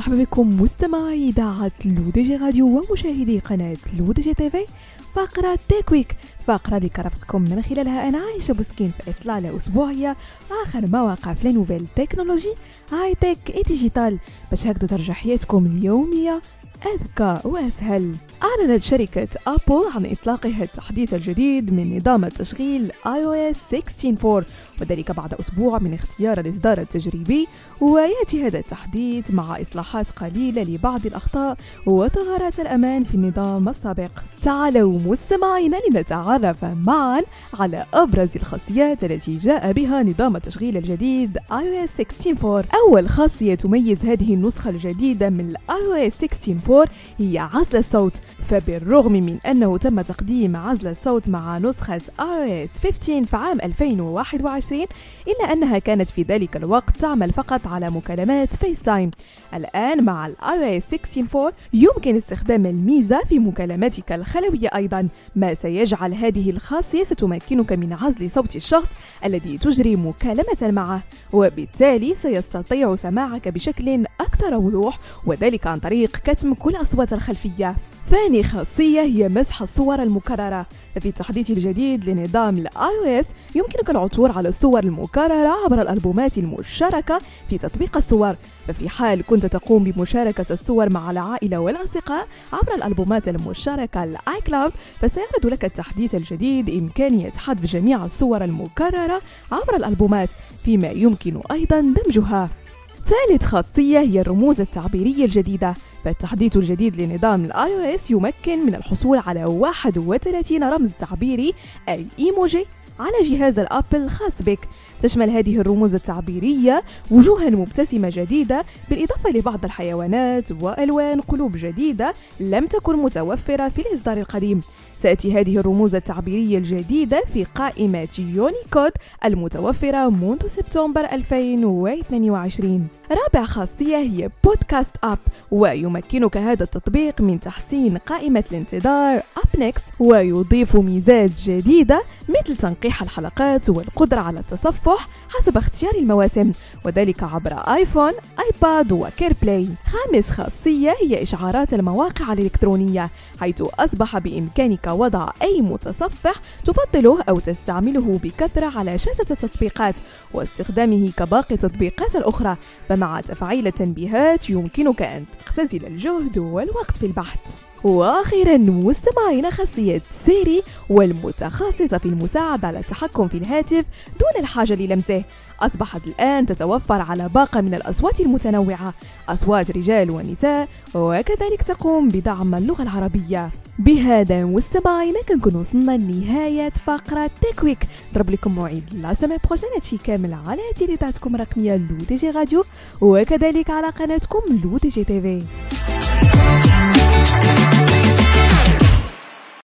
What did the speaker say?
مرحبا بكم مستمعي إذاعة لودجي راديو ومشاهدي قناة لودجي تيفي. فقرة تيكويك، فقرة اللي كرفتكم من خلالها أنا عايشة بوسكين في إطلالة أسبوعية آخر مواقع في لانوفيل تكنولوجي هاي تك إي ديجيتال باش هكذا ترجع حياتكم اليومية أذكى وأسهل. أعلنت شركة أبل عن إطلاقها التحديث الجديد من نظام التشغيل iOS 16.4 وذلك بعد أسبوع من اختيار الإصدار التجريبي، ويأتي هذا التحديث مع إصلاحات قليلة لبعض الأخطاء وثغرات الأمان في النظام السابق. تعالوا مستمعينا لنتعرف معا على أبرز الخاصيات التي جاء بها نظام التشغيل الجديد iOS 16.4. أول خاصية تميز هذه النسخة الجديدة من iOS 16.4 هي عزل الصوت، فبالرغم من أنه تم تقديم عزل الصوت مع نسخة iOS 15 في عام 2021 إلا أنها كانت في ذلك الوقت تعمل فقط على مكالمات فيس تايم. الآن مع iOS 16.4 يمكن استخدام الميزة في مكالماتك الخلوية أيضا، ما سيجعل هذه الخاصية ستمكنك من عزل صوت الشخص الذي تجري مكالمة معه، وبالتالي سيستطيع سماعك بشكل أكثر وضوح، وذلك عن طريق كتم كل أصوات الخلفية. ثاني خاصية هي مسح الصور المكررة. ففي التحديث الجديد لنظام iOS يمكنك العثور على الصور المكررة عبر الألبومات المشاركة في تطبيق الصور، ففي حال كنت تقوم بمشاركة الصور مع العائلة والأصدقاء عبر الألبومات المشاركة iCloud فسيعرض لك التحديث الجديد إمكانية حذف جميع الصور المكررة عبر الألبومات فيما يمكن أيضا دمجها. ثالث خاصية هي الرموز التعبيرية الجديدة. فالتحديث الجديد لنظام iOS يمكن من الحصول على 31 رمز تعبيري أي إيموجي على جهاز الأبل الخاص بك. تشمل هذه الرموز التعبيرية وجوها مبتسمة جديدة بالإضافة لبعض الحيوانات وألوان قلوب جديدة لم تكن متوفرة في الإصدار القديم. تأتي هذه الرموز التعبيرية الجديدة في قائمة يونيكود المتوفرة منذ سبتمبر 2022. رابع خاصية هي بودكاست أب، ويمكنك هذا التطبيق من تحسين قائمة الانتظار أب نيكست، ويضيف ميزات جديدة مثل تنقيح الحلقات والقدرة على التصفح حسب اختيار المواسم، وذلك عبر آيفون، آيباد وكير بلاي. خامس خاصية هي إشعارات المواقع الإلكترونية، حيث أصبح بإمكانك وضع أي متصفح تفضله أو تستعمله بكثرة على شاشة التطبيقات واستخدامه كباقي التطبيقات الأخرى، فمع تفعيل التنبيهات يمكنك أن تختزل الجهد والوقت في البحث. وأخيرا مستمعين خاصية سيري، والمتخصصة في المساعدة على التحكم في الهاتف دون الحاجة للمسه، أصبحت الآن تتوفر على باقة من الأصوات المتنوعة، أصوات رجال ونساء، وكذلك تقوم بدعم اللغة العربية. بهذا مستمعينا كنكون وصلنا لنهاية فقرة تيكويك. نضرب لكم موعد لا سيمين بروشين هادشي كامل على تيليتاتكم الرقمية لودجي راديو وكذلك على قناتكم لودجي تيفي.